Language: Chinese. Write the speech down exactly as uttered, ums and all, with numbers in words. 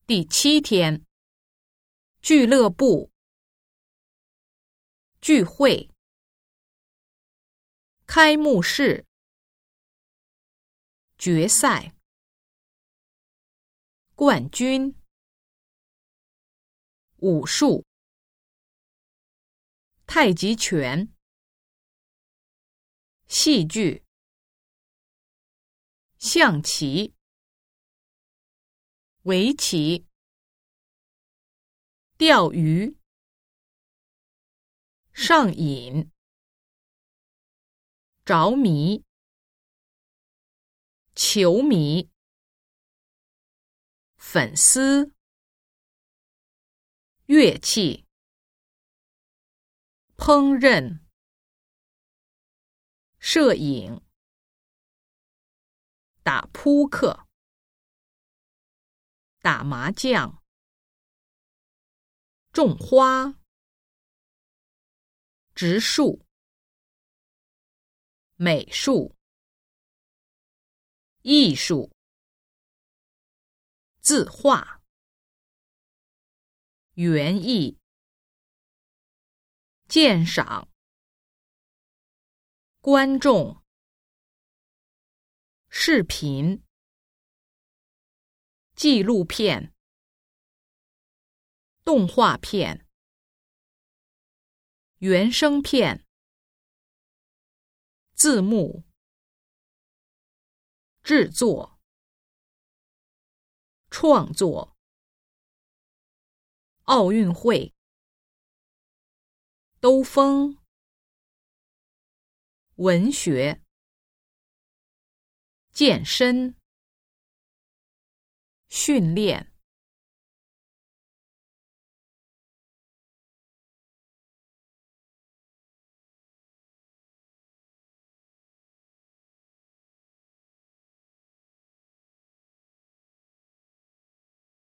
第七天，俱乐部，聚会，开幕式，决赛，冠军，武术，太极拳，戏剧，象棋，围棋，钓鱼，上瘾，着迷，球迷，粉丝，乐器，烹饪，摄影，打扑克，打麻将，种花，植树，美术，艺术，字画，园艺，鉴赏，观众，视频，纪录片，动画片，原声片，字幕，制作，创作，奥运会，兜风，文学，健身，训练。